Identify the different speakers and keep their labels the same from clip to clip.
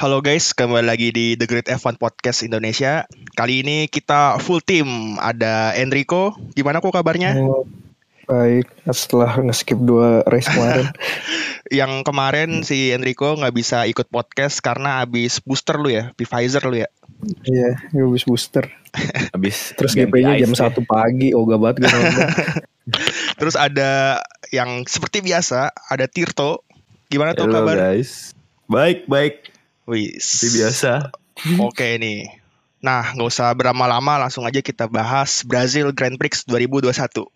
Speaker 1: Halo guys, kembali lagi di The Great F1 Podcast Indonesia. Kali ini kita full team. Ada Enrico, gimana kok kabarnya?
Speaker 2: Oh, baik, setelah nge-skip 2 race kemarin.
Speaker 1: Yang kemarin si Enrico nggak bisa ikut podcast karena habis booster lu ya, Pfizer lu ya.
Speaker 2: Iya, gue habis booster.
Speaker 3: Habis
Speaker 2: Terus
Speaker 3: ganti
Speaker 2: GP-nya jam
Speaker 3: ice ya.
Speaker 2: 1 pagi, ogah banget gue nonton.
Speaker 1: Terus ada yang seperti biasa, ada Tirto. Gimana tuh
Speaker 3: Halo
Speaker 1: kabar?
Speaker 3: guys. Baik.
Speaker 1: Wih,
Speaker 3: Seperti biasa.
Speaker 1: Oke nih. Nah, nggak usah berlama-lama, langsung aja kita bahas Brazil Grand Prix 2021.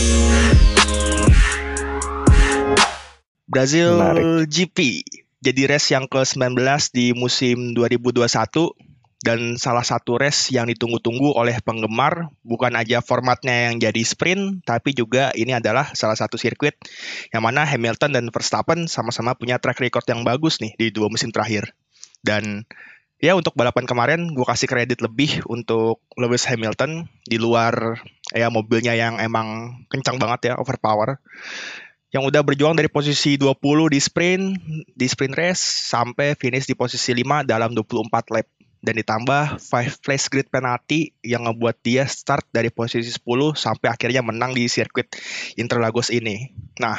Speaker 1: Brazil
Speaker 2: Menarik.
Speaker 1: GP jadi race yang ke-19 di musim 2021 dan salah satu race yang ditunggu-tunggu oleh penggemar. Bukan aja formatnya yang jadi sprint, tapi juga ini adalah salah satu sirkuit yang mana Hamilton dan Verstappen sama-sama punya track record yang bagus nih di 2 musim terakhir. Dan ya untuk balapan kemarin gue kasih kredit lebih untuk Lewis Hamilton di luar ya mobilnya yang emang kencang banget ya, overpower. Yang udah berjuang dari posisi 20 di sprint race sampai finish di posisi 5 dalam 24 lap. Dan ditambah 5 place grid penalty yang ngebuat dia start dari posisi 10 sampai akhirnya menang di sirkuit Interlagos ini. Nah,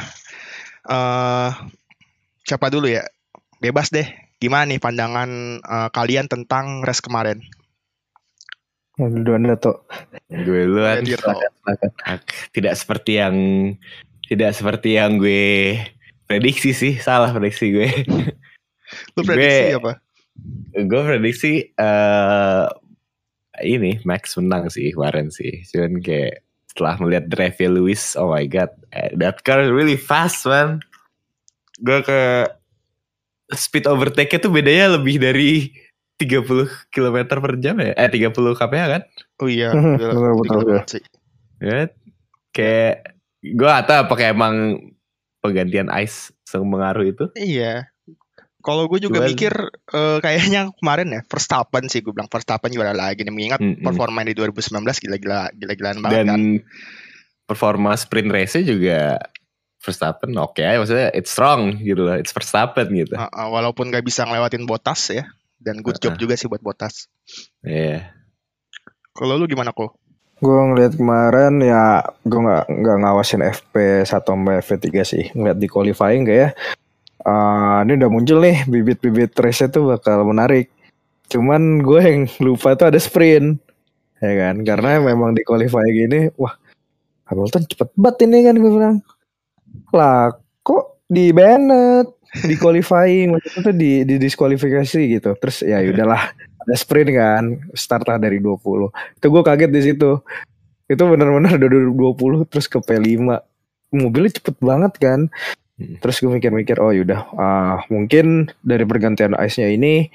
Speaker 1: siapa dulu ya? Bebas deh. Gimana nih pandangan kalian tentang race kemarin?
Speaker 2: Duluan tuh.
Speaker 3: Gue duluan.
Speaker 2: Silakan.
Speaker 3: Tidak seperti yang gue prediksi sih. Salah prediksi gue.
Speaker 1: Lu prediksi apa?
Speaker 3: Gue prediksi ini Max menang sih kemarin sih. Cuman kayak setelah melihat drive Lewis, oh my god, that car is really fast man. Gue ke speed overtake-nya tuh bedanya lebih dari 30 km per jam ya? 30 kph kan?
Speaker 1: Oh iya,
Speaker 2: betul.
Speaker 1: sih.
Speaker 3: Ya, kayak gue gak tahu apakah emang penggantian ice mengaruh itu.
Speaker 1: Iya. Kalau gue juga mikir kayaknya kemarin ya Verstappen sih, gue bilang Verstappen juara lagi nih, mengingat performa di 2019 gila-gilaan banget. Dan
Speaker 3: kan performa sprint race-nya juga Verstappen oke, maksudnya it's strong gitu lah, it's Verstappen gitu.
Speaker 1: Walaupun gak bisa ngelewatin Bottas ya, dan good job juga sih buat Bottas.
Speaker 3: Iya.
Speaker 1: Kalau lu gimana kok?
Speaker 2: Gue ngeliat kemarin ya, gue nggak ngawasin FP1 sampai FP3 sih, ngeliat di qualifying kayak ini udah muncul nih bibit-bibit race tuh bakal menarik. Cuman gue yang lupa tuh ada sprint, ya kan? Karena memang di qualifying ini, wah Hamilton cepet banget ini kan, gue bilang. Lah kok di Bennett di qualifying maksudnya tuh di diskualifikasi gitu. Terus ya udahlah ada sprint kan, start lah dari 20. Itu gue kaget di situ. Itu benar-benar udah 20 terus ke P5. Mobilnya cepet banget kan. Terus gue mikir-mikir oh yaudah mungkin dari pergantian ice-nya ini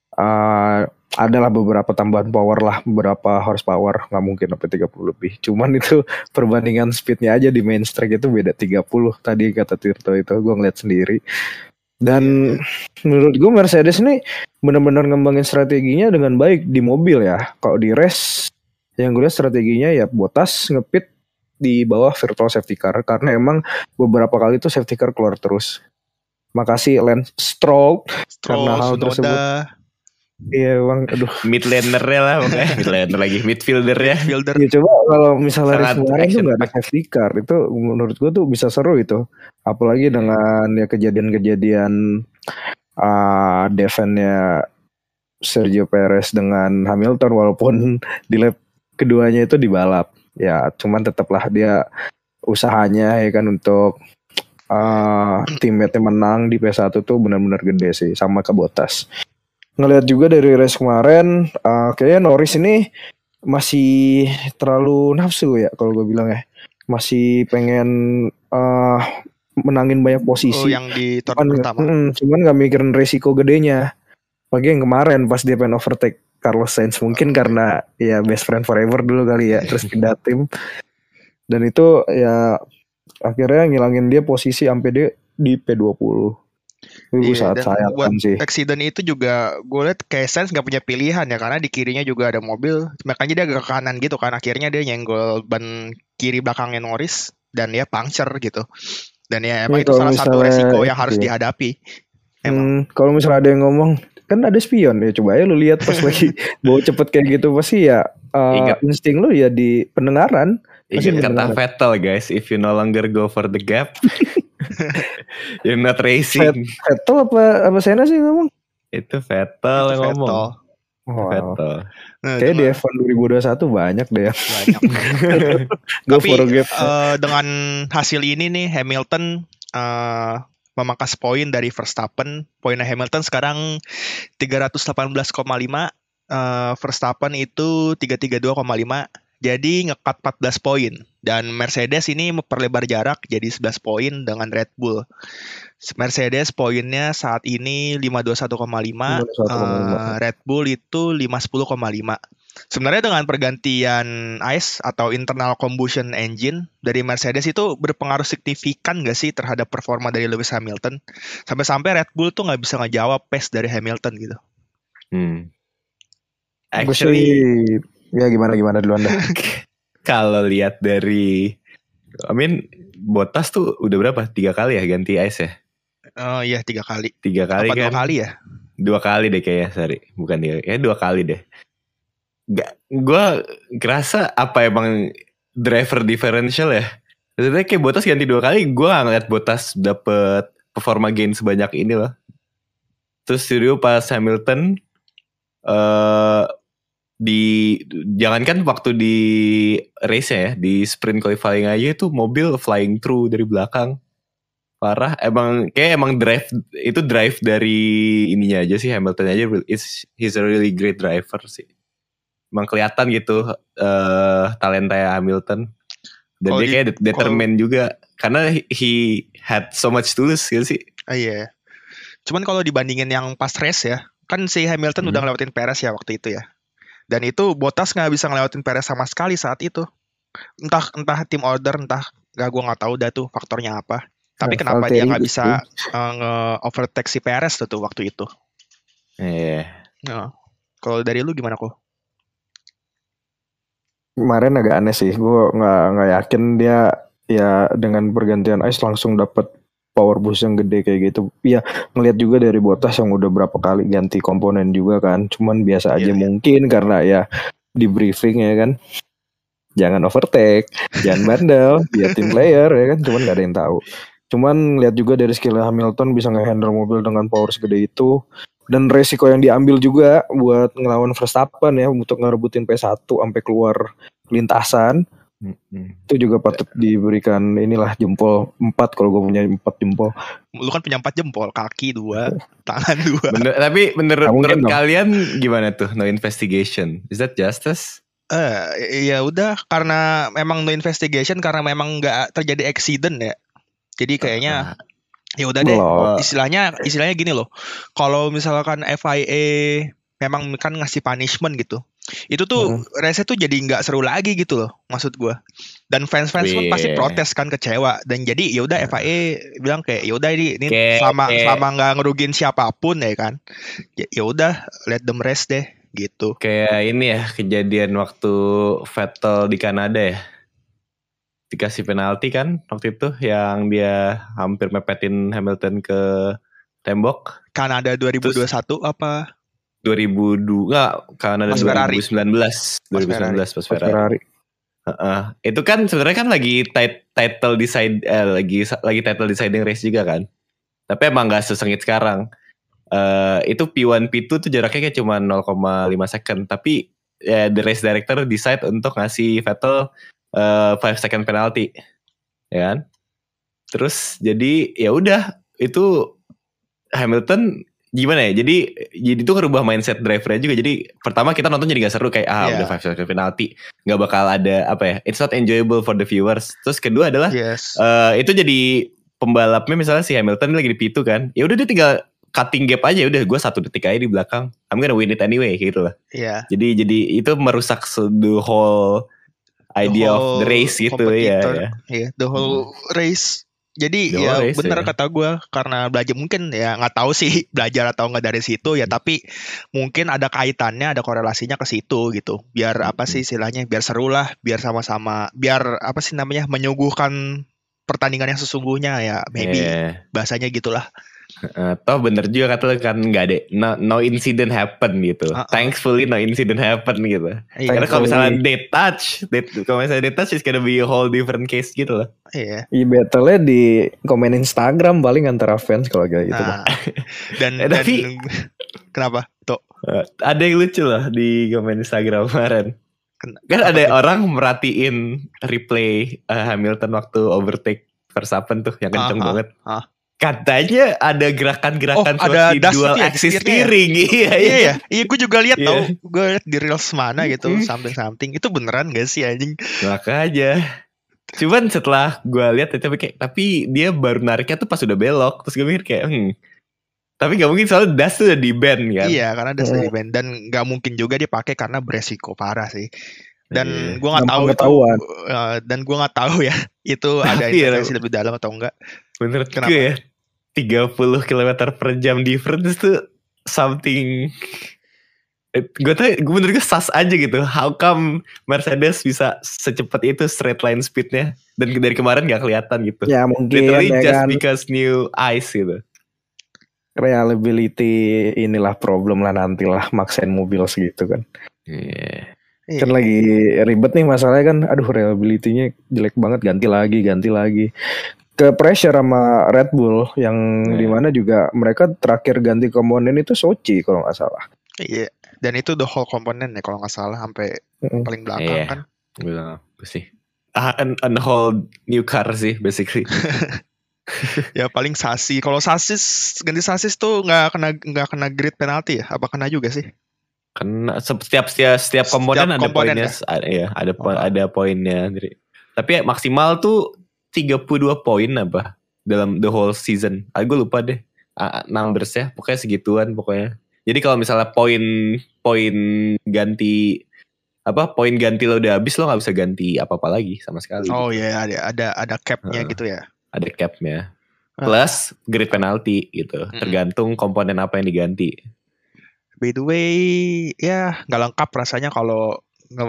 Speaker 2: adalah beberapa tambahan power lah, beberapa horsepower, nggak mungkin sampai 30 lebih. Cuman itu perbandingan speednya aja di main track itu beda 30 tadi kata Tirto itu, gue ngeliat sendiri. Dan menurut gue Mercedes ini benar-benar ngembangin strateginya dengan baik di mobil ya. Kalau di race yang gue lihat strateginya ya Bottas ngepit di bawah virtual safety car karena emang beberapa kali tuh safety car keluar terus. Makasih Lance Stroll karena hal tersebut. Iya bang, aduh.
Speaker 3: Midlaner-nya lah pokoknya. Midlaner lagi, midfielder-nya.
Speaker 2: Ya coba kalau misalnya kemarin tuh gak ada safety car, itu menurut gue tuh bisa seru itu. Apalagi dengan ya kejadian-kejadian defense-nya Sergio Perez dengan Hamilton, walaupun di lap keduanya itu dibalap. Ya cuman tetaplah dia usahanya ya kan untuk teammate-nya menang di P1 tuh benar-benar gede sih, sama ke Bottas. Ngelihat juga dari race kemarin kayaknya Norris ini masih terlalu nafsu ya kalau gue bilang ya, masih pengen menangin banyak posisi
Speaker 1: yang di turn pertama.
Speaker 2: Cuman gak mikirin resiko gedenya. Pagi yang kemarin pas dia pengen overtake Carlos Sainz, mungkin karena ya best friend forever dulu kali ya, terus pindah tim, dan itu ya akhirnya ngilangin dia posisi sampai dia di P20.
Speaker 1: Iya, dan buat accident itu juga gue liat kayak Sainz gak punya pilihan ya, karena di kirinya juga ada mobil, makanya dia agak ke kanan gitu kan, akhirnya dia nyenggol ban kiri belakangnya Norris dan dia puncture gitu. Dan ya emang itu salah satu resiko yang harus dihadapi.
Speaker 2: Kalau misalnya ada yang ngomong kan ada spion ya, coba aja lu lihat pas lagi bawa cepet kayak gitu pasti ya insting lu ya di pendengaran.
Speaker 3: Ingat kata Vettel guys, if you no longer go for the gap, you're not racing.
Speaker 2: Vettel apa Senna sih ngomong?
Speaker 3: Itu Vettel yang ngomong.
Speaker 2: Vettel. Kayak di F1 2021 banyak deh.
Speaker 1: Banyak. Tapi dengan hasil ini nih Hamilton memangkas poin dari Verstappen. Poinnya Hamilton sekarang 318,5. Verstappen itu 332,5. Jadi ngekat 14 poin. Dan Mercedes ini memperlebar jarak jadi 11 poin dengan Red Bull. Mercedes poinnya saat ini 521,5. Red Bull itu 510,5. Sebenarnya dengan pergantian ICE atau internal combustion engine dari Mercedes itu berpengaruh signifikan gak sih terhadap performa dari Lewis Hamilton? Sampai-sampai Red Bull tuh gak bisa ngejawab pace dari Hamilton gitu.
Speaker 2: Actually, ya gimana dulu Anda?
Speaker 3: Kalau lihat dari, Bottas tuh udah berapa? 3 kali ya ganti ICE ya?
Speaker 1: Oh iya 3 kali.
Speaker 3: 3 kali
Speaker 1: kan? 2 kali ya?
Speaker 3: 2 kali deh kayaknya, sorry. Bukan 3, ya 2 kali deh. Gue ngerasa apa emang driver differential ya? Maksudnya kayak Bottas ganti 2 kali, gue gak ngeliat Bottas dapet performa gain sebanyak ini loh. Terus studio pas Hamilton, jangankan waktu di race ya, di sprint qualifying aja itu mobil flying through dari belakang. Parah, emang drive dari ininya aja sih, Hamilton aja he's a really great driver sih. Emang kelihatan gitu talenta Hamilton. Dan dia kayak determined juga karena he had so much to lose gitu sih.
Speaker 1: Iya. Cuman kalau dibandingin yang pas race ya, kan si Hamilton udah ngelewatin Perez ya waktu itu ya. Dan itu Bottas nggak bisa ngelewatin Perez sama sekali saat itu. Entah team order, gue nggak tahu dah tuh faktornya apa. Tapi kenapa dia nggak bisa nge-overtake si Perez tuh waktu itu?
Speaker 3: Iya.
Speaker 1: Nah, kalau dari lu gimana kok?
Speaker 2: Kemarin agak aneh sih, gue nggak yakin dia ya dengan pergantian ICE langsung dapat power boost yang gede kayak gitu. Ya ngelihat juga dari Bottas yang udah berapa kali ganti komponen juga kan. Cuman biasa aja mungkin karena ya di briefing ya kan. Jangan overtake, jangan bandel, dia tim player ya kan. Cuman nggak ada yang tahu. Cuman lihat juga dari skill Hamilton bisa nge-handle mobil dengan power segede itu. Dan resiko yang diambil juga buat ngelawan Verstappen ya untuk ngerebutin P1 sampai keluar lintasan. Itu juga patut diberikan inilah jempol 4 kalau gue punya 4 jempol.
Speaker 1: Lu kan punya 4 jempol, kaki 2, tangan 2.
Speaker 3: Tapi menurut kalian gimana tuh no investigation? Is that justice?
Speaker 1: Ya udah karena memang no investigation karena memang nggak terjadi accident ya. Jadi kayaknya ya udah deh. Istilahnya gini loh. Kalau misalkan FIA memang kan ngasih punishment gitu. Itu tuh race tuh jadi nggak seru lagi gitu loh maksud gue. Dan fans pun pasti protes kan, kecewa. Dan jadi ya udah FIA bilang kayak ya udah ini selama nggak ngerugin siapapun ya kan. Ya udah let them race deh gitu.
Speaker 3: Kayak ini ya kejadian waktu Vettel di Kanada ya. Dikasih penalti kan waktu itu yang dia hampir mepetin Hamilton ke tembok.
Speaker 1: Kanada 2021 apa?
Speaker 3: 2002 enggak, Kanada 2019 pas Ferrari. Itu kan sebenarnya kan lagi title decide lagi title deciding race juga kan. Tapi emang enggak sesengit sekarang. Itu P1 P2 tuh jaraknya kayak cuma 0,5 second, tapi ya the race director decide untuk ngasih Vettel 5 second penalty. Ya kan? Terus jadi ya udah itu Hamilton gimana ya? Jadi itu ngerubah mindset drivernya juga. Jadi pertama kita nonton jadi gak seru kayak udah 5 second penalty, nggak bakal ada apa ya? It's not enjoyable for the viewers. Terus kedua adalah itu jadi pembalapnya misalnya si Hamilton lagi di P2 kan. Ya udah dia tinggal cutting gap aja, udah gue 1 detik aja di belakang. I'm gonna win it anyway gitu lah.
Speaker 1: Iya.
Speaker 3: Jadi itu merusak the whole idea of the race gitu ya.
Speaker 1: The whole race. Jadi ya benar kata gue, karena belajar mungkin ya nggak tahu sih belajar atau nggak dari situ ya, tapi mungkin ada kaitannya, ada korelasinya ke situ gitu. Biar apa sih istilahnya, biar seru lah, biar sama-sama, biar apa sih namanya, menyuguhkan pertandingan yang sesungguhnya ya, maybe bahasanya gitulah.
Speaker 3: Toh bener juga kata lu kan nggak ada no incident happen gitu. Thankfully no incident happen gitu. Karena kalau misalnya they touch, it's gonna be a whole different case gitu loh.
Speaker 1: Iya.
Speaker 2: Battle-nya di komen Instagram paling antara fans kalau kayak gitu.
Speaker 1: Dan
Speaker 3: tapi
Speaker 1: kenapa? Tuh.
Speaker 3: Ada yang lucu loh di komen Instagram kemarin. Kan ada orang merhatiin replay Hamilton waktu overtake Verstappen tuh yang kenceng banget. Katanya ada gerakan-gerakan
Speaker 1: ada
Speaker 3: dual axis steering.
Speaker 1: Iya, gue juga lihat tau. Gue liat di reels mana gitu, something itu beneran gak sih anjing?
Speaker 3: Makanya. Cuman setelah gue lihat tapi dia baru nariknya tuh pas udah belok. Terus gue mikir kayak tapi gak mungkin soalnya das tuh udah di ban kan.
Speaker 1: Iya, karena das udah di ban dan gak mungkin juga dia pakai karena beresiko parah sih. Dan gue nggak tahu itu, dan gue nggak tahu ya itu ada informasi lebih dalam atau enggak.
Speaker 3: Menurut gue ya 30 km per jam difference tuh something. Menurut gue sas aja gitu. How come Mercedes bisa secepat itu straight line speednya dan dari kemarin gak kelihatan gitu.
Speaker 2: Ya mungkin
Speaker 3: literally
Speaker 2: ya
Speaker 3: just
Speaker 2: kan,
Speaker 3: because new ice gitu.
Speaker 2: Reliability inilah problem lah nantilah maksain mobil segitu kan. Kan lagi ribet nih masalahnya kan. Aduh reliability-nya jelek banget, ganti lagi. Ke pressure sama Red Bull yang dimana juga mereka terakhir ganti komponen itu Sochi kalau nggak salah.
Speaker 1: Iya. Dan itu the whole komponen ya kalau nggak salah sampai paling belakang kan.
Speaker 3: Bilang apa sih? A whole new car sih basically.
Speaker 1: Ya paling sasis. Kalau ganti sasis tuh nggak kena grid penalti ya? Apa kena juga sih?
Speaker 3: Karena setiap komponen ada poinnya. Ya? Ada poinnya. Tapi maksimal tuh 32 poin apa dalam the whole season. Gue lupa deh numbers ya. Pokoknya segituan pokoknya. Jadi kalau misalnya poin ganti lo udah habis, lo nggak bisa ganti apa-apa lagi sama sekali.
Speaker 1: Oh iya, ada cap-nya gitu ya.
Speaker 3: Ada cap-nya. Plus grid penalty gitu. Tergantung komponen apa yang diganti.
Speaker 1: By the way, ya nggak lengkap rasanya kalau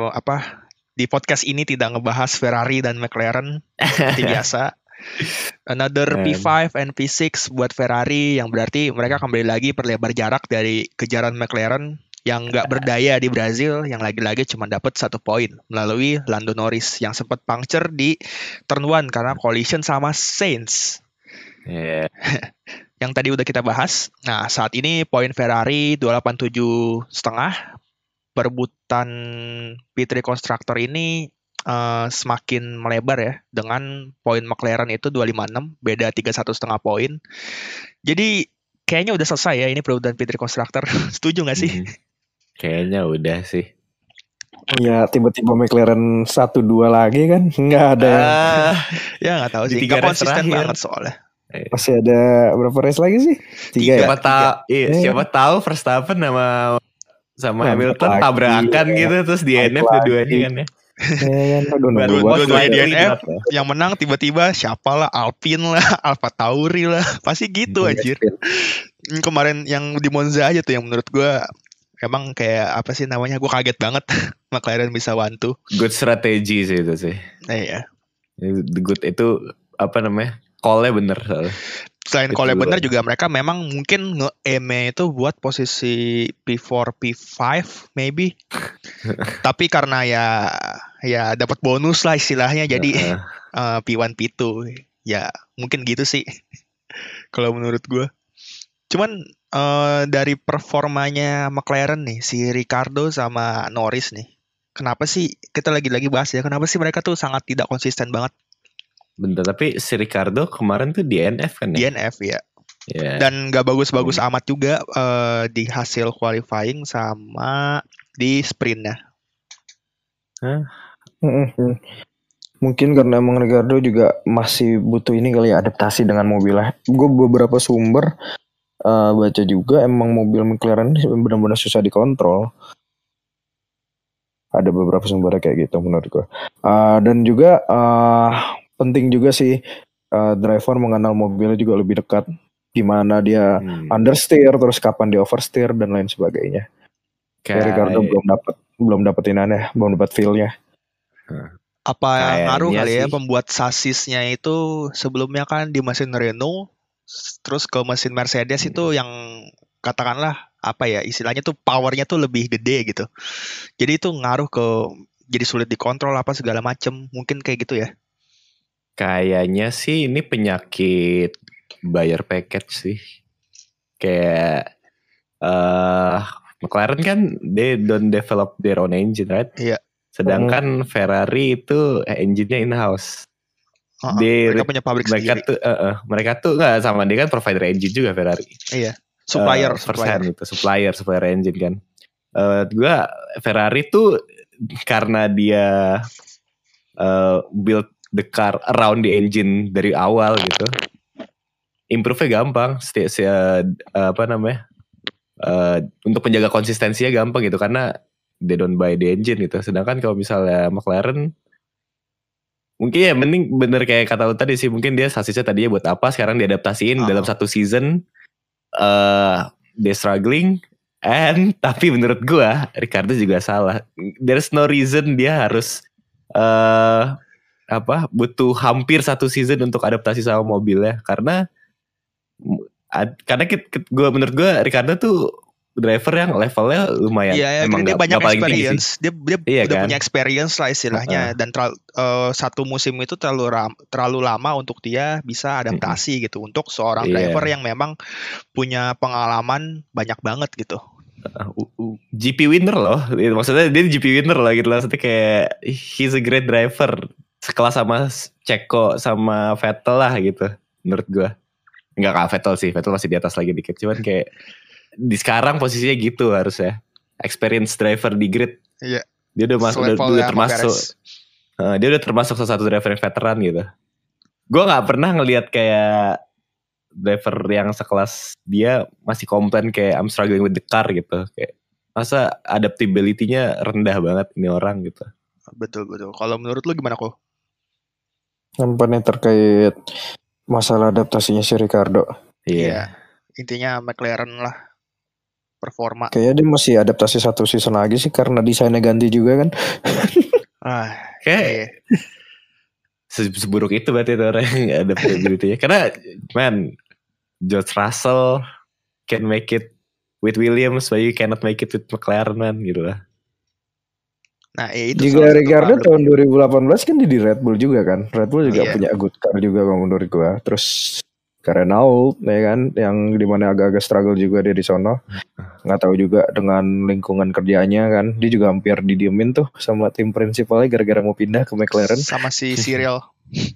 Speaker 1: di podcast ini tidak ngebahas Ferrari dan McLaren seperti biasa. Another P5 and P6 buat Ferrari yang berarti mereka kembali lagi perlebar jarak dari kejaran McLaren yang nggak berdaya di Brazil, yang lagi-lagi cuma dapat 1 poin melalui Lando Norris yang sempat puncture di turn 1 karena collision sama Sainz. Yang tadi udah kita bahas. Nah, saat ini poin Ferrari 287,5. Perebutan P3 Constructor ini semakin melebar ya, dengan poin McLaren itu 256, beda 31,5 poin. Jadi kayaknya udah selesai ya ini perebutan P3 Constructor. Setuju gak sih?
Speaker 3: Kayaknya udah sih.
Speaker 2: Ya tiba-tiba McLaren 1-2 lagi kan, nggak ada.
Speaker 1: Ya nggak tahu sih, nggak konsisten banget soalnya.
Speaker 2: Masih ada berapa race lagi sih? 3 ya?
Speaker 3: Siapa tahu Verstappen sama Hamilton tabrakan gitu terus di DNF dua-duanya kan ya.
Speaker 1: Dua-duanya DNF, yang menang tiba-tiba siapalah, Alpine lah, Alfa Tauri lah, pasti gitu anjir. Kemarin yang di Monza aja tuh yang menurut gue emang kayak apa sih namanya, gue kaget banget McLaren bisa 1-2.
Speaker 3: Good strategy sih itu sih.
Speaker 1: Iya.
Speaker 3: Good itu apa namanya? Call-nya bener.
Speaker 1: Selain call-nya bener juga mereka memang mungkin nge-aim itu buat posisi P4, P5 maybe. Tapi karena ya dapat bonus lah istilahnya, jadi P1, P2. Ya mungkin gitu sih kalau menurut gue. Cuman dari performanya McLaren nih, si Ricardo sama Norris nih, kenapa sih kita lagi-lagi bahas ya, kenapa sih mereka tuh sangat tidak konsisten banget?
Speaker 3: Bentar, tapi si Ricardo kemarin tuh DNF kan ya?
Speaker 1: DNF ya. Dan gak bagus-bagus amat juga di hasil qualifying sama di sprintnya.
Speaker 2: Mungkin karena emang Ricardo juga masih butuh ini kali ya, adaptasi dengan mobilnya. Gue beberapa sumber baca juga emang mobil McLaren ini benar-benar susah dikontrol. Ada beberapa sumber kayak gitu menurut gue. Dan juga penting juga sih driver mengenal mobilnya juga lebih dekat, gimana dia understeer, terus kapan dia oversteer dan lain sebagainya. Kayak Ricardo belum dapetin belum dapat feel-nya.
Speaker 1: Apa ngaruh kali ya pembuat sasisnya itu sebelumnya kan di mesin Renault Terus ke mesin Mercedes itu yang katakanlah apa ya istilahnya tuh powernya tuh lebih gede gitu. Jadi itu ngaruh ke jadi sulit dikontrol apa segala macem. Mungkin kayak gitu ya.
Speaker 3: Kayaknya sih ini penyakit buyer package sih. Kayak McLaren kan they don't develop their own engine, right?
Speaker 1: Iya.
Speaker 3: Sedangkan Ferrari itu engine-nya in-house.
Speaker 1: Mereka punya pabrik sendiri.
Speaker 3: Mereka tuh nggak sama, dia kan provider engine juga Ferrari.
Speaker 1: Iya. Supplier
Speaker 3: itu supplier engine kan. Gua Ferrari tuh karena dia build the car around the engine dari awal gitu, improve-nya gampang. Untuk menjaga konsistensinya gampang gitu karena they don't buy the engine gitu. Sedangkan kalau misalnya McLaren mungkin ya mending bener kayak kata lu tadi sih, mungkin dia sasisnya tadinya buat apa, sekarang diadaptasiin dalam satu season. Dia struggling, tapi menurut gua Ricardo juga salah. There's no reason dia harus butuh hampir satu season untuk adaptasi sama mobilnya, karena menurut gua Ricardo tuh driver yang levelnya lumayan.
Speaker 1: Iya, emang dia banyak experience. Dia
Speaker 3: iya,
Speaker 1: udah
Speaker 3: kan?
Speaker 1: punya experience lah istilahnya. Dan satu musim itu terlalu lama untuk dia bisa adaptasi gitu. Untuk seorang driver yang memang punya pengalaman banyak banget gitu.
Speaker 3: GP winner loh. Maksudnya dia GP winner lah gitu. Maksudnya kayak he's a great driver. Sekelas sama Checo sama Vettel lah gitu. Menurut gue. Enggak kayak Vettel sih. Vettel masih di atas lagi dikit. Cuman kayak di sekarang posisinya gitu harusnya. Experience driver di grid.
Speaker 1: Iya.
Speaker 3: Dia udah termasuk. Dia udah termasuk salah satu driver yang veteran gitu. Gue nggak pernah ngelihat kayak driver yang sekelas dia masih komplain kayak I'm struggling with the car gitu. Kayak masa adaptability-nya rendah banget ini orang gitu.
Speaker 1: Betul. Kalau menurut lu gimana kok?
Speaker 2: Nampaknya terkait masalah adaptasinya si Ricardo.
Speaker 1: Iya. Intinya McLaren lah. Performa.
Speaker 2: Kayaknya dia masih adaptasi satu season lagi sih karena desainnya ganti juga kan.
Speaker 3: Kayak seburuk itu berarti itu orang yang adaptability-nya. Karena George Russell can make it with Williams, but you cannot make it with McLaren man gitu lah.
Speaker 1: Nah, itu
Speaker 2: juga Ricardo tahun 2018 kan di Red Bull juga kan. Red Bull juga punya good car juga menurut gua. Terus Renault ya kan, yang dimana agak-agak struggle juga dia di sono. Nggak tahu juga dengan lingkungan kerjanya kan, dia juga hampir didiemin tuh sama tim prinsipalnya gara-gara mau pindah ke McLaren.
Speaker 1: Sama si Cyril.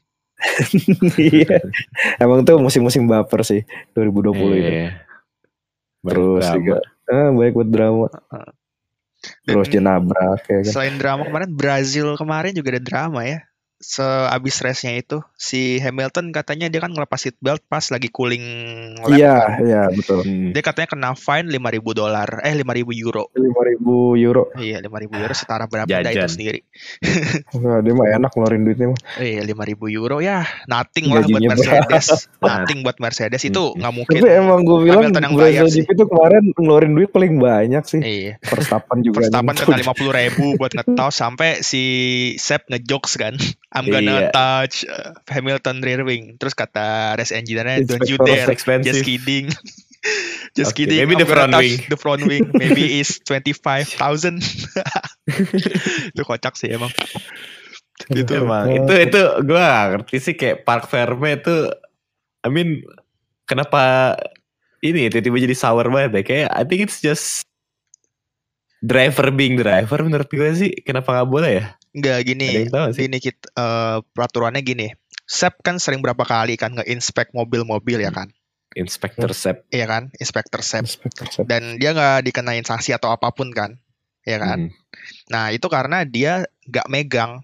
Speaker 2: Iya, emang tuh musim-musim baper sih 2020 ini. Terus juga baik buat drama. Terus dia nabrak ya kan.
Speaker 1: Selain drama kemarin, Brazil kemarin juga ada drama ya. Seabis race-nya itu si Hamilton katanya dia kan ngelepas seatbelt pas lagi cooling lap.
Speaker 2: Iya betul.
Speaker 1: Dia katanya kena fine $5,000. €5,000.
Speaker 2: €5,000.
Speaker 1: Iya, €5,000 setara berapa dah itu sendiri.
Speaker 2: Nah, dia mah enak ngeluarin duitnya mah.
Speaker 1: Iya, €5,000 ya, nothing lah buat Mercedes. Nothing buat Mercedes itu nggak mungkin.
Speaker 2: Tapi emang gue bilang Brazil GP itu kemarin ngeluarin duit paling banyak sih.
Speaker 1: Iya.
Speaker 2: Verstappen juga.
Speaker 1: Verstappen kena $50,000 buat ngetos sampai si Seb ngejokes kan. I'm gonna touch Hamilton rear wing. Terus kata race engineer-nya, don't you dare, just kidding. Just kidding.
Speaker 3: Maybe the front wing.
Speaker 1: The front wing maybe is 25,000. Itu kocak sih emang.
Speaker 3: Itu emang itu gue ngerti sih kayak Park Ferme itu, I mean kenapa ini tiba-tiba jadi sour banget ya? Kayak I think it's just driver being driver menurut gue sih. Kenapa nggak boleh ya?
Speaker 1: Enggak gini kita peraturannya gini. Sep kan sering berapa kali kan nge-inspect mobil-mobil ya kan.
Speaker 3: Inspektur Sep.
Speaker 1: Iya kan, Inspektur Sep. Dan dia nggak dikenain sanksi atau apapun kan, ya kan. Nah itu karena dia nggak megang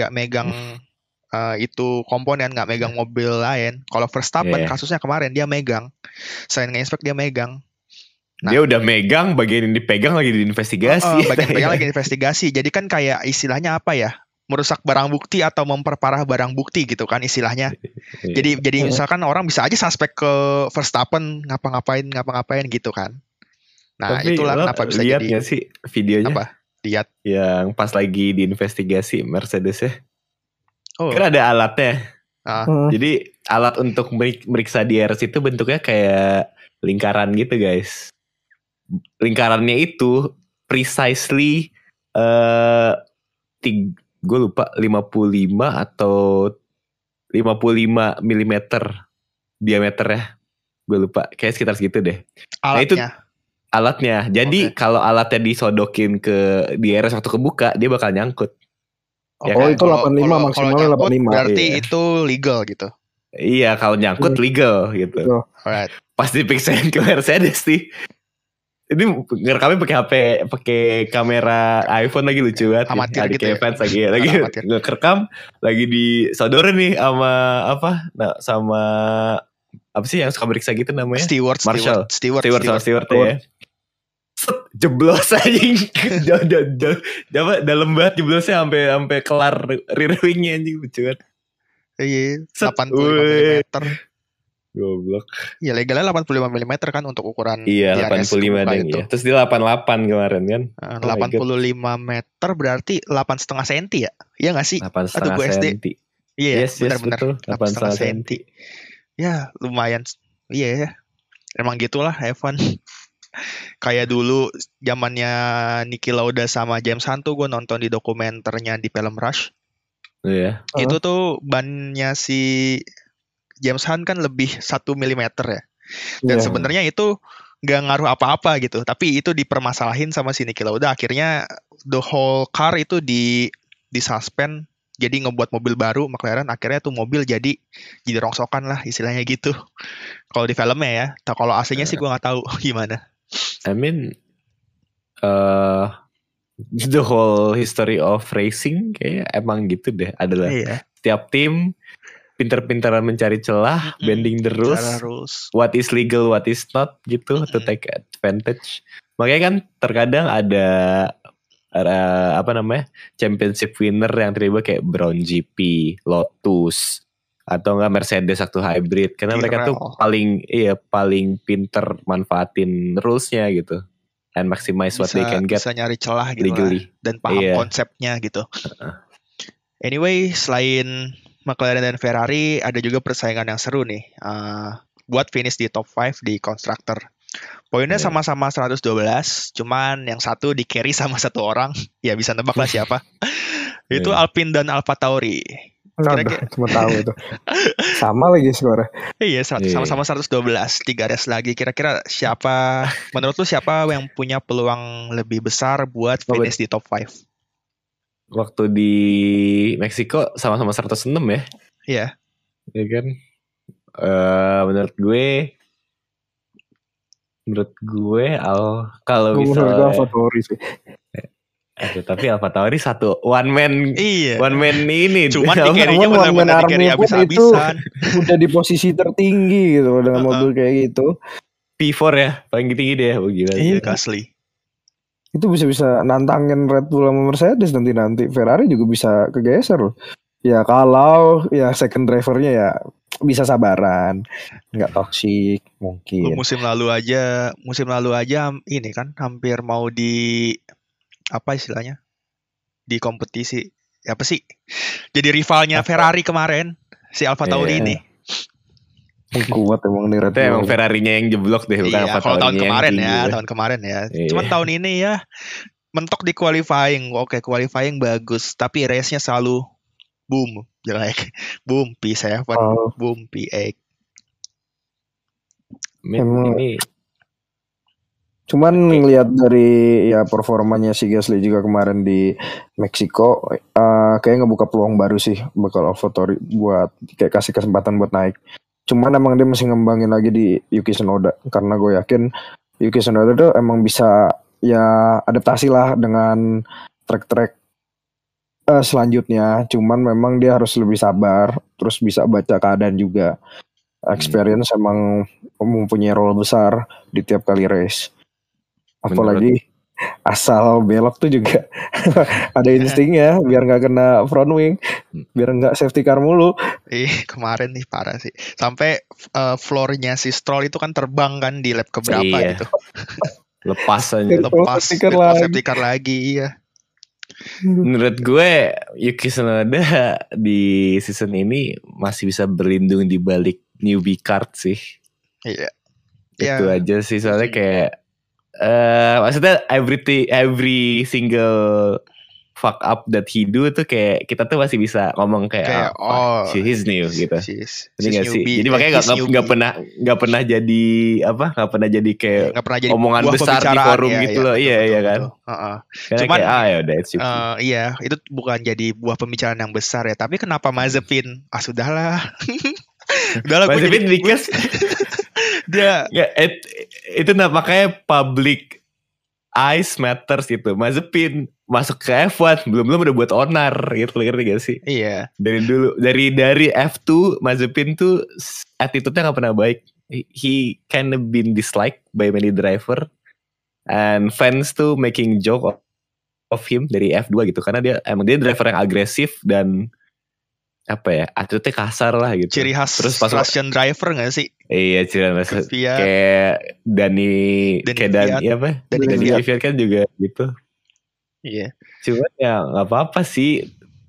Speaker 1: itu komponen, nggak megang mobil lain. Kalau Verstappen kasusnya kemarin dia megang, selain nge-inspect dia megang.
Speaker 3: Nah, dia udah megang, bagian yang dipegang lagi diinvestigasi.
Speaker 1: Bagian pegang lagi diinvestigasi. Jadi kan kayak istilahnya apa ya? Merusak barang bukti atau memperparah barang bukti gitu kan istilahnya. Jadi misalkan orang bisa aja suspek ke Verstappen ngapa-ngapain gitu kan. Nah, tapi itulah kenapa bisa
Speaker 3: lihat
Speaker 1: jadi.
Speaker 3: Lihat gak sih videonya?
Speaker 1: Apa? Lihat.
Speaker 3: Yang pas lagi diinvestigasi Mercedes ya. Kan ada alatnya. Jadi alat untuk meriksa DRS itu bentuknya kayak lingkaran gitu guys. Lingkarannya itu precisely gue lupa 55 atau 55 mm diameternya. Gue lupa, kayak sekitar segitu deh.
Speaker 1: Alatnya.
Speaker 3: Nah itu alatnya. Jadi kalau alatnya disodokin ke DRS waktu kebuka, dia bakal nyangkut.
Speaker 2: Ya kan? Itu 85 maksimalnya 85.
Speaker 1: Berarti itu legal gitu.
Speaker 3: Iya, kalau nyangkut legal gitu.
Speaker 1: Alright.
Speaker 3: Pas dipiksain ke Mercedes nih. Ini ngerekamnya pakai HP, pakai kamera iPhone lagi lucu banget.
Speaker 1: Amatir gitu ya.
Speaker 3: Fans lagi ngerekam, lagi disodorin nih sama apa? Nah, sama apa sih yang suka meriksa gitu namanya?
Speaker 1: Steward
Speaker 3: ya. Jeblos aja. Dalam banget jeblosnya sampai kelar rear wingnya anjing, lucu banget.
Speaker 1: Iya, 85 mm.
Speaker 3: Goblok.
Speaker 1: Ya legalnya 85 mm kan untuk ukuran
Speaker 3: iya,
Speaker 1: DRS
Speaker 3: 85 deng ya. Terus dia 88 kemarin kan.
Speaker 1: 85 meter berarti 8,5 cm ya? Iya gak sih?
Speaker 3: 8,5 cm.
Speaker 1: Iya,
Speaker 3: yes,
Speaker 1: benar-benar
Speaker 3: 8,5 cm.
Speaker 1: Ya, lumayan. Iya, emang gitulah F1. Kayak dulu zamannya Niki Lauda sama James Hunt tuh gue nonton di dokumenternya di film Rush.
Speaker 3: Iya.
Speaker 1: Itu tuh bannya si James Hunt kan lebih 1 mm ya. Dan sebenarnya itu gak ngaruh apa-apa gitu. Tapi itu dipermasalahin sama si Niki Lauda. Akhirnya the whole car itu disuspend. Jadi ngebuat mobil baru McLaren. Akhirnya tuh mobil jadi rongsokan lah istilahnya gitu. Kalau di filmnya ya. Kalau aslinya sih gue gak tahu gimana.
Speaker 3: I mean the whole history of racing kayak emang gitu deh. Adalah setiap tim pinter-pinteran mencari celah, bending the rules, what is legal, what is not gitu, to take advantage. Makanya kan terkadang ada apa namanya championship winner yang terlibat kayak Brown GP, Lotus, atau enggak Mercedes waktu hybrid, karena mereka tuh paling pinter manfaatin rulesnya gitu, and maximize what they can get.
Speaker 1: Bisa nyari celah gitu
Speaker 3: legally.
Speaker 1: Dan paham konsepnya gitu. Anyway, selain McLaren dan Ferrari, ada juga persaingan yang seru nih buat finish di top 5 di constructor. Poinnya sama-sama 112, cuman yang satu di carry sama satu orang. Ya bisa nebak lah siapa. Itu Alpine dan AlphaTauri.
Speaker 2: Cuma tahu itu. Sama lagi skornya.
Speaker 1: Iya, sama-sama 112, 3 race lagi. Kira-kira siapa, menurut lu siapa yang punya peluang lebih besar buat finish di top 5?
Speaker 3: Waktu di Meksiko sama-sama 106 ya.
Speaker 1: Iya.
Speaker 3: Iya kan. Menurut gue kalau misalnya
Speaker 2: AlphaTauri sih.
Speaker 3: Tapi AlphaTauri one man ini.
Speaker 1: Cuman di carry-nya benar-benar di carry habis-habisan.
Speaker 2: Udah di posisi tertinggi gitu dengan mobil kayak gitu.
Speaker 3: P4 ya, paling tinggi deh. Oh gila.
Speaker 1: Iya, asli.
Speaker 2: Itu bisa nantangin Red Bull sama Mercedes nanti. Ferrari juga bisa kegeser loh. Ya kalau ya second drivernya ya bisa sabaran, nggak toksik mungkin.
Speaker 1: Musim lalu aja ini kan hampir mau apa istilahnya, di kompetisi apa sih, jadi rivalnya Ferrari kemarin si AlphaTauri ini.
Speaker 2: Kuat emang nih Red Bull.
Speaker 3: Emang Ferrarinya yang jeblok deh, bukan AlphaTauri.
Speaker 1: Kalau tahun kemarin ya. Cuman tahun ini ya mentok di qualifying. Oke, qualifying bagus, tapi race-nya selalu boom, jelek. Boom P7, boom P8.
Speaker 3: Ini
Speaker 2: cuman ngelihat dari ya performanya si Gasly juga kemarin di Meksiko, kayak ngebuka peluang baru sih bakal AlphaTauri buat kayak kasih kesempatan buat naik. Cuman emang dia masih ngembangin lagi di Yuki Tsunoda, karena gue yakin Yuki Tsunoda tuh emang bisa ya adaptasi lah dengan track-track selanjutnya. Cuman memang dia harus lebih sabar, terus bisa baca keadaan juga. Experience emang mempunyai role besar di tiap kali race. Apalagi asal belok tuh juga ada instingnya biar nggak kena front wing, biar nggak safety car mulu.
Speaker 1: Kemarin nih parah sih, sampai floornya si Stroll itu kan terbang kan di lap keberapa gitu.
Speaker 3: Lepas
Speaker 1: safety car lagi. Iya.
Speaker 3: Menurut gue Yuki Tsunoda di season ini masih bisa berlindung di balik newbie card sih.
Speaker 1: Iya.
Speaker 3: Itu aja sih soalnya kayak maksudnya every single fuck up that he do tuh kayak kita tuh masih bisa ngomong kayak he's new gitu. Ini nggak sih? Jadi makanya nggak pernah jadi apa? Nggak pernah jadi kayak omongan besar di forum gitu loh. Iya kan.
Speaker 1: Cuman
Speaker 3: kayak, ya udah
Speaker 1: iya itu bukan jadi buah pembicaraan yang besar ya. Tapi kenapa Mazepin? Sudahlah. Udahlah
Speaker 3: Mazepin because
Speaker 1: dia
Speaker 3: itu makanya public eyes matters gitu. Mazepin masuk ke F1 belum udah buat onar gitu, ngerti gak sih?
Speaker 1: Iya.
Speaker 3: Dari dulu dari F2 Mazepin tuh attitude-nya gak pernah baik. He kind of been disliked by many driver and fans tuh making joke of him dari F2 gitu karena dia driver yang agresif dan apa ya, attitude-nya kasar lah gitu.
Speaker 1: Ciri khas terus Russian driver gak sih?
Speaker 3: Iya, ciri khas kayak Dani Kvyat kan juga gitu.
Speaker 1: Iya.
Speaker 3: Cuman ya gak apa-apa sih.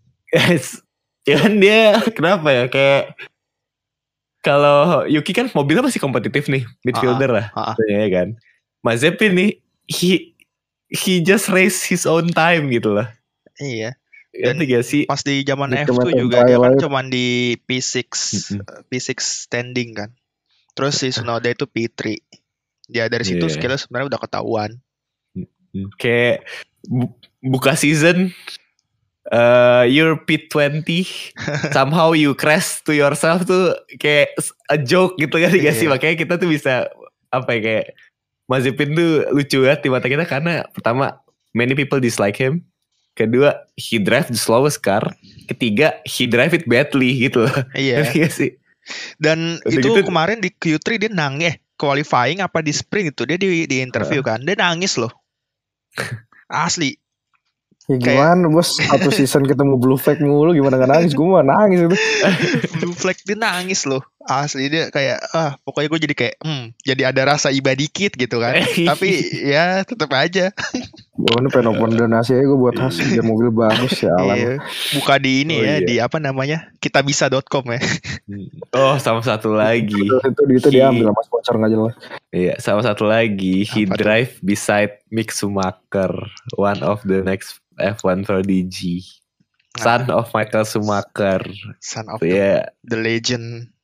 Speaker 3: Cuman dia kenapa ya, kayak kalau Yuki kan mobilnya masih kompetitif nih, midfielder lah ya kan. Mazepin nih he just race his own time gitu lah.
Speaker 1: Iya.
Speaker 3: Dan
Speaker 1: pas di zaman F2 juga dia kan cuma di P6 standing kan. Terus si Tsunoda itu P3. Dia dari situ skillnya sebenarnya udah ketahuan.
Speaker 3: Kayak buka season you're P20 somehow you crash to yourself tuh kayak a joke gitu kan gak sih? Makanya kita tuh bisa apa ya, kayak Mazepin tuh lucu banget di mata kita karena pertama many people dislike him, kedua he drive the slowest car, ketiga he drive it badly gitu loh.
Speaker 1: Iya
Speaker 3: sih.
Speaker 1: Dan udah itu gitu, kemarin di Q3 dia nangis qualifying apa di sprint itu dia di interview kan dia nangis loh. Asli.
Speaker 2: Ya gimana bos, satu season ketemu blue flag mulu, gimana gak nangis? Gue mah nangis itu.
Speaker 1: Blue flag dia nangis loh. Asli dia kayak pokoknya gue jadi kayak jadi ada rasa iba dikit gitu kan. Tapi ya tetap aja.
Speaker 2: Gue pengen open donasi aja gue buat hasil biar mobil bagus ya alam.
Speaker 1: Buka di ini di apa namanya, kitabisa.com ya.
Speaker 3: Oh sama satu lagi
Speaker 2: itu diambil sama sponsor gak jelas.
Speaker 3: Iya sama satu lagi he drive beside Mick Schumacher, one of the next F1 prodigy, son of Michael Schumacher,
Speaker 1: son of the legend.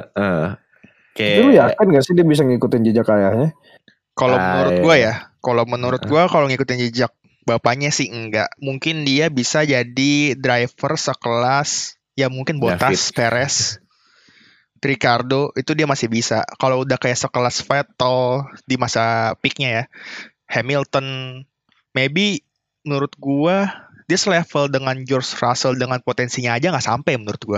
Speaker 2: Kayak lu yakin gak sih dia bisa ngikutin jejak ayahnya?
Speaker 1: Kalau menurut gue kalau ngikutin jejak bapaknya sih enggak. Mungkin dia bisa jadi driver sekelas ya mungkin Bottas, Perez, Ricardo itu dia masih bisa. Kalau udah kayak sekelas Vettel di masa peaknya ya, Hamilton, maybe menurut gue dia selevel dengan George Russell dengan potensinya aja nggak sampai menurut gue.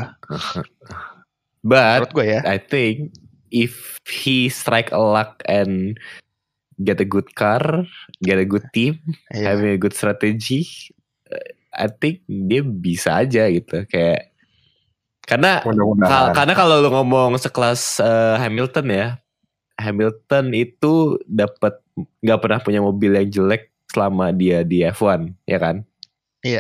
Speaker 3: But
Speaker 1: menurut gue ya,
Speaker 3: I think if he strike a luck and get a good car, get a good team, having a good strategy, I think dia bisa aja gitu. Kayak karena kalau lu ngomong sekelas Hamilton ya, Hamilton itu dapat nggak pernah punya mobil yang jelek selama dia di F1 ya kan?
Speaker 1: Iya.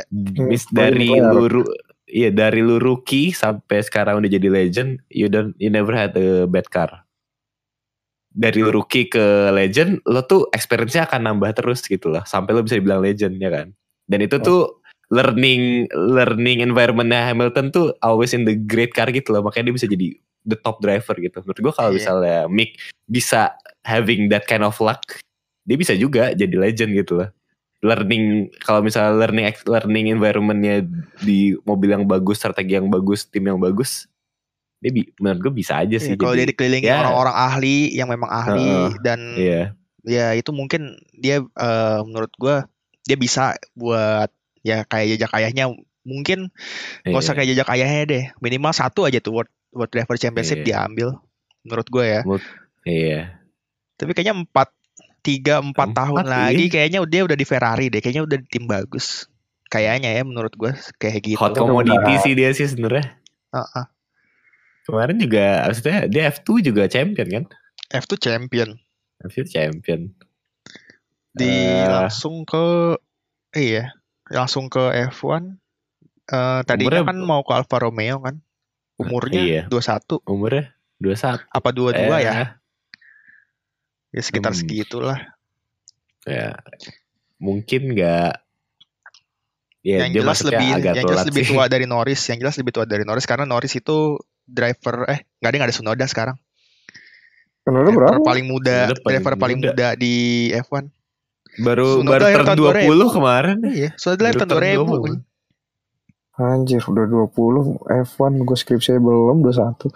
Speaker 3: Dari lu rookie sampai sekarang udah jadi legend, you never had a bad car. Dari lu rookie ke legend, lo tuh experience-nya akan nambah terus gitu lah, sampai lo bisa dibilang legend ya kan. Dan itu tuh learning environment-nya Hamilton tuh always in the great car gitu loh, makanya dia bisa jadi the top driver gitu. Menurut gue kalau misalnya Mick bisa having that kind of luck, dia bisa juga jadi legend gitu loh. Kalau misalnya learning environment-nya di mobil yang bagus, strategi yang bagus, tim yang bagus, dia menurut gue bisa aja sih.
Speaker 1: Kalau dia dikelilingi orang-orang ahli yang memang ahli dan ya itu mungkin dia menurut gue dia bisa buat ya kayak jejak ayahnya, mungkin nggak usah kayak jejak ayahnya deh, minimal satu aja tuh World Driver Championship diambil menurut gue ya. Tapi kayaknya 3-4 tahun lagi kayaknya dia udah di Ferrari deh, kayaknya udah di tim bagus kayaknya ya, menurut gue kayak gitu.
Speaker 3: Hot commodity sih dia sih sebenarnya. Kemarin juga maksudnya dia F2 juga champion kan?
Speaker 1: F2 champion.
Speaker 3: F2 champion.
Speaker 1: Langsung ke langsung ke F1. Tadinya
Speaker 3: Umurnya
Speaker 1: kan mau ke Alfa Romeo kan. Umurnya
Speaker 3: iya.
Speaker 1: 21.
Speaker 3: Umurnya 21.
Speaker 1: Apa 22 ya? Ya sekitar
Speaker 3: Hmm.
Speaker 1: segitulah.
Speaker 3: Ya, mungkin nggak. Ya,
Speaker 1: Yang
Speaker 3: dia
Speaker 1: jelas
Speaker 3: masuknya
Speaker 1: lebih
Speaker 3: agak
Speaker 1: yang jelas
Speaker 3: telat
Speaker 1: lebih
Speaker 3: sih.
Speaker 1: tua dari Norris. Yang jelas lebih tua dari Norris karena Norris itu driver nggak ada Tsunoda sekarang.
Speaker 2: Tsunoda
Speaker 1: Driver
Speaker 2: berapa?
Speaker 1: paling muda,
Speaker 3: Tsunoda paling
Speaker 1: driver paling
Speaker 3: muda.
Speaker 1: muda di F1.
Speaker 3: Baru
Speaker 1: Tsunoda lahir
Speaker 3: turn
Speaker 1: tahun
Speaker 3: 20
Speaker 1: 2000.
Speaker 3: kemarin.
Speaker 1: Iya, Tsunoda lahir
Speaker 3: Baru
Speaker 1: tahun
Speaker 3: turn
Speaker 1: 2000.
Speaker 3: 20.
Speaker 2: Anjir, udah 20 F1, gue skripsi belum 21.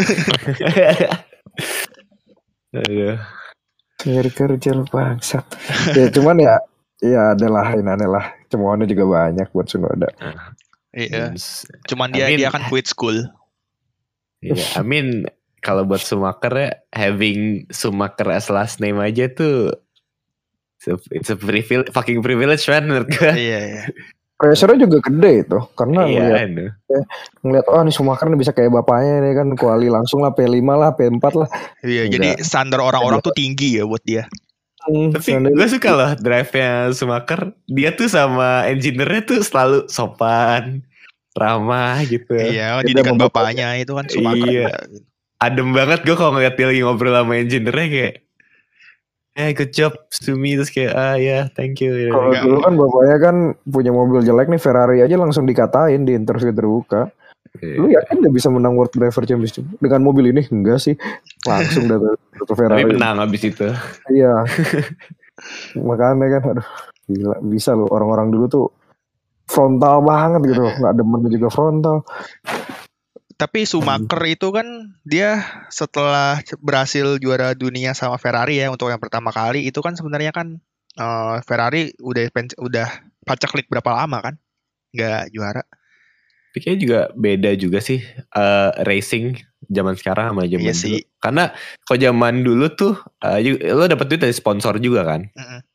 Speaker 3: Aduh.
Speaker 2: Kerja lu bangsat. Ya cuman ya adalah ini aneh lah. Cemoannya juga banyak buat Tsunoda.
Speaker 1: Iya. Cuman dia akan quit school.
Speaker 3: Iya, I mean kalau buat Schumacher ya, having Schumacher as last name aja tuh it's a fucking privilege man menurut gue.
Speaker 1: Iya.
Speaker 2: Pressure-nya juga gede itu karena
Speaker 3: Iya,
Speaker 2: ngeliat nih Schumacher nih bisa kayak bapaknya nih kan, kuali langsung lah P5 lah P4 lah.
Speaker 1: Iya, jadi standar orang-orang tuh tinggi ya buat dia.
Speaker 3: Tapi gue suka loh drive-nya Schumacher. Dia tuh sama engineer-nya tuh selalu sopan, ramah gitu.
Speaker 1: Iya, didikan bapaknya itu kan Schumacher.
Speaker 3: Iya. Adem banget gue kalau ngeliat dia lagi ngobrol sama engineer-nya kayak good job Sumi, terus kayak ya thank you.
Speaker 2: Kalau dulu kan bapaknya kan punya mobil jelek nih Ferrari aja langsung dikatain di interview terbuka. Lu yakin dia bisa menang World Driver Championship dengan mobil ini? Enggak sih, langsung dari Ferrari.
Speaker 3: Tapi menang abis itu.
Speaker 2: Iya. Makanya kan aduh gila bisa loh, orang-orang dulu tuh frontal banget gitu, nggak demen juga frontal.
Speaker 1: Tapi Schumacher itu kan dia setelah berhasil juara dunia sama Ferrari ya untuk yang pertama kali itu kan sebenarnya kan Ferrari udah paceklik berapa lama kan nggak juara.
Speaker 3: Tapi kayaknya juga beda juga sih racing zaman sekarang sama zaman dulu. Karena kalau zaman dulu tuh lo dapet duit dari sponsor juga kan.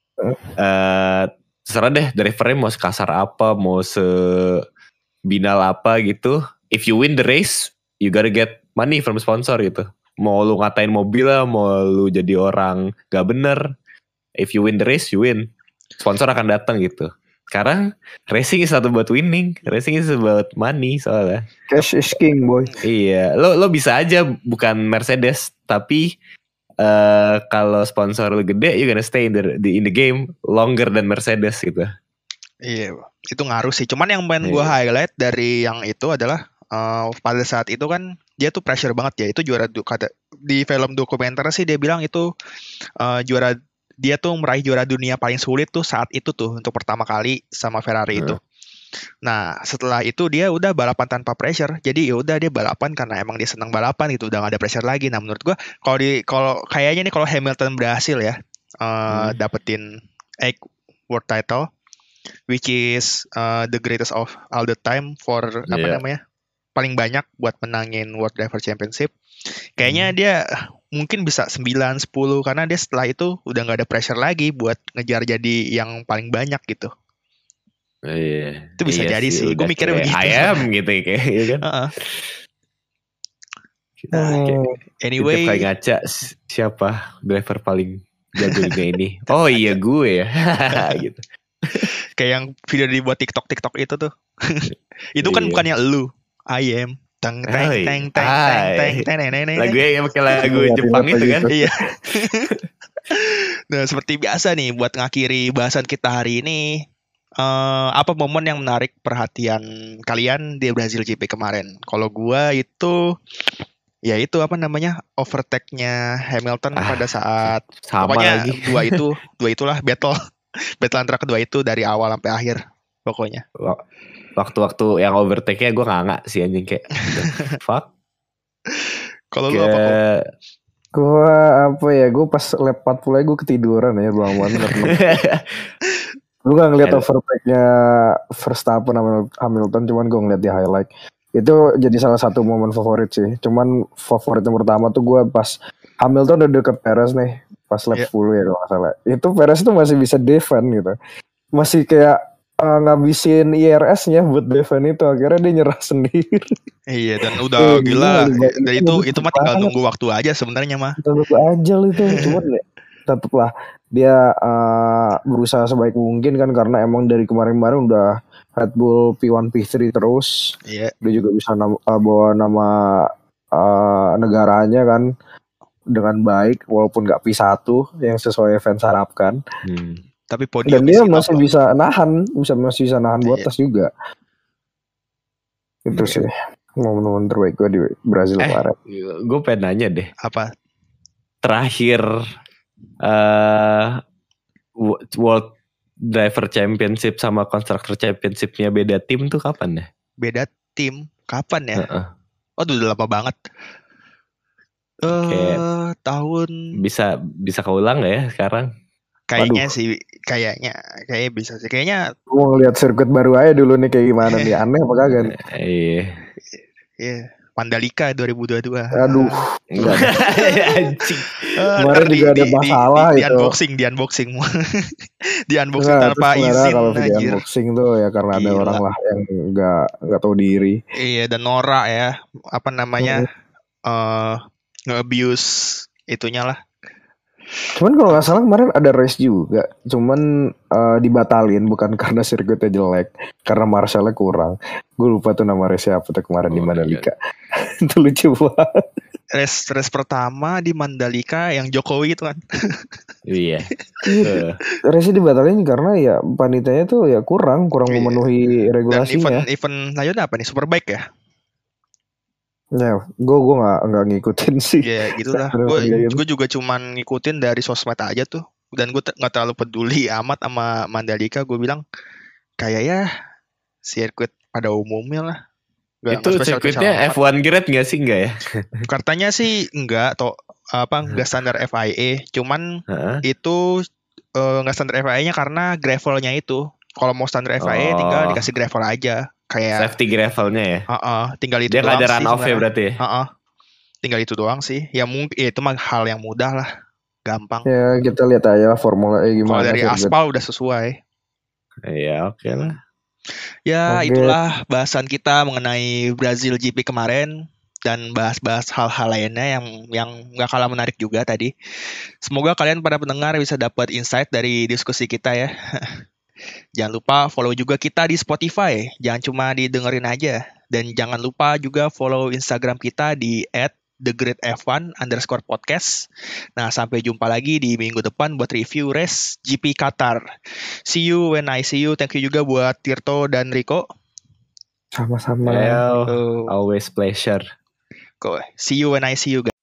Speaker 3: Terserah deh drivernya mau sekasar apa, mau sebinal apa gitu. If you win the race, you gotta get money from sponsor gitu. Mau lu ngatain mobil lah, mau lu jadi orang gak bener. If you win the race, you win. Sponsor akan datang gitu. Sekarang racing is not about winning, racing is about money soalnya.
Speaker 2: Cash is king boy.
Speaker 3: Iya, lo bisa aja bukan Mercedes, tapi kalau sponsor lo gede, you gonna stay in the game longer than Mercedes gitu.
Speaker 1: Iya, itu ngaruh sih. Cuman yang pengen gue highlight dari yang itu adalah pada saat itu kan dia tuh pressure banget ya. Itu juara di film dokumenter sih dia bilang itu juara. Dia tuh meraih juara dunia paling sulit tuh saat itu tuh untuk pertama kali sama Ferrari itu. Nah setelah itu dia udah balapan tanpa pressure. Jadi ya udah dia balapan karena emang dia senang balapan gitu, udah gak ada pressure lagi. Nah menurut gua kalau kayaknya nih kalau Hamilton berhasil ya dapetin 8 world title, which is the greatest of all the time for paling banyak buat menangin World Driver Championship. Kayaknya dia mungkin bisa 9-10 karena dia setelah itu udah gak ada pressure lagi buat ngejar jadi yang paling banyak gitu.
Speaker 3: Iya.
Speaker 1: Itu bisa jadi sih. Gue mikirnya begitu.
Speaker 3: Ayam gitu kayak kan.
Speaker 1: Anyway,
Speaker 3: kayak ngaca siapa driver paling jago juga ini. Oh iya gue ya. gitu.
Speaker 1: Kayak yang video dibuat TikTok itu tuh. Itu kan bukannya lu. I am teng.
Speaker 3: Lagunya yang pakai lagu Jepang itu kan.
Speaker 1: Iya. Nah, seperti biasa nih buat ngakhiri bahasan kita hari ini, apa momen yang menarik perhatian kalian di Brazil GP kemarin? Kalau gua itu ya itu overtake-nya Hamilton pada saat pokoknya
Speaker 3: lagi.
Speaker 1: dua itulah battle antara kedua itu dari awal sampai akhir pokoknya.
Speaker 3: Waktu-waktu yang overtake-nya gue nggak sih anjing kayak fuck.
Speaker 1: Kalau lu apa kok?
Speaker 2: Gue pas lap 40 gue ketiduran ya bangun. Gue gak ngeliat overtake-nya Verstappen sama Hamilton, cuman gue ngeliat di highlight. Itu jadi salah satu momen favorit sih. Cuman favorit yang pertama tuh gue pas Hamilton udah deket Perez nih, pas lap 10 ya kalau gak salah. Itu Perez tuh masih bisa defend gitu. Masih kayak ngabisin IRS-nya buat defend itu, akhirnya dia nyerah sendiri.
Speaker 1: Iya, dan udah gila. Dan itu mah tinggal nunggu waktu aja sebenarnya mah.
Speaker 2: Tunggu aja itu, cuman tetaplah dia berusaha sebaik mungkin kan, karena emang dari kemarin-kemarin udah Red Bull P1 P3 terus.
Speaker 1: Iya.
Speaker 2: Dia juga bisa bawa nama negaranya kan dengan baik walaupun nggak P1 yang sesuai fans harapkan.
Speaker 1: Tapi podium
Speaker 2: dan dia masih bisa nahan, masih bisa nahan Bottas juga. Itu sih momen-momen terbaik gue di Brazil kemarin.
Speaker 3: Gue pengen nanya deh.
Speaker 1: Apa?
Speaker 3: Terakhir World Driver Championship sama Constructor Championship-nya beda tim tuh kapan ya?
Speaker 1: Beda tim? Kapan ya? Waduh, udah lama banget. Tahun
Speaker 3: bisa keulang gak ya sekarang?
Speaker 1: Kayaknya sih, kayaknya bisa sih. Kayaknya
Speaker 2: mau ngeliat sirkuit baru aja dulu nih kayak gimana nih, aneh apa kagak nih?
Speaker 1: Iya. Mandalika 2022.
Speaker 2: Aduh,
Speaker 3: anjing.
Speaker 2: Kemarin juga ada masalah
Speaker 1: di
Speaker 2: itu.
Speaker 1: Di unboxing tanpa izin.
Speaker 2: Kalau video unboxing tuh ya karena ada orang lah yang nggak tahu diri.
Speaker 1: Iya, dan norak ya, apa namanya, nge-abuse itunya lah.
Speaker 2: Cuman kalau nggak salah kemarin ada race juga, cuman dibatalin bukan karena sirkuitnya jelek, karena Marshallnya kurang. Gue lupa tuh nama race apa tuh kemarin di Mandalika. Itu lucu banget.
Speaker 1: Race pertama di Mandalika yang Jokowi itu kan.
Speaker 3: Iya.
Speaker 2: Race dibatalin karena ya panitianya tuh ya kurang memenuhi regulasinya.
Speaker 1: Dan event lanjutnya apa nih? Superbike ya?
Speaker 2: Ya, gue nggak ngikutin sih.
Speaker 1: Ya gitulah. Gue juga cuman ngikutin dari sosmed aja tuh. Dan gue nggak terlalu peduli amat sama Mandalika. Gue bilang kayak ya sirkuit pada umumnya lah.
Speaker 3: Itu sirkuitnya F1 grade nggak sih? Enggak ya?
Speaker 1: Katanya sih enggak. Nggak standar FIA. Cuman itu nggak standar FIA-nya karena gravelnya itu. Kalau mau standar FIA tinggal dikasih gravel aja. Kayak
Speaker 3: safety gravelnya ya.
Speaker 1: Tinggal itu
Speaker 3: dia
Speaker 1: doang sih.
Speaker 3: Dia ada run off ya berarti ya.
Speaker 1: Tinggal itu doang sih. Ya mungkin itu mah hal yang mudah lah, gampang.
Speaker 2: Ya kita lihat aja Formula E gimana.
Speaker 1: Kalau dari aspal udah sesuai.
Speaker 3: Ya oke lah.
Speaker 1: Ya itulah bahasan kita mengenai Brazil GP kemarin dan bahas-bahas hal-hal lainnya yang nggak kalah menarik juga tadi. Semoga kalian para pendengar bisa dapat insight dari diskusi kita ya. Jangan lupa follow juga kita di Spotify. Jangan cuma didengerin aja. Dan jangan lupa juga follow Instagram kita di @thegreatf1_podcast. Nah, sampai jumpa lagi di minggu depan buat review race GP Qatar. See you when I see you. Thank you juga buat Tirto dan Rico.
Speaker 2: Sama-sama.
Speaker 3: Always pleasure.
Speaker 1: See you when I see you guys.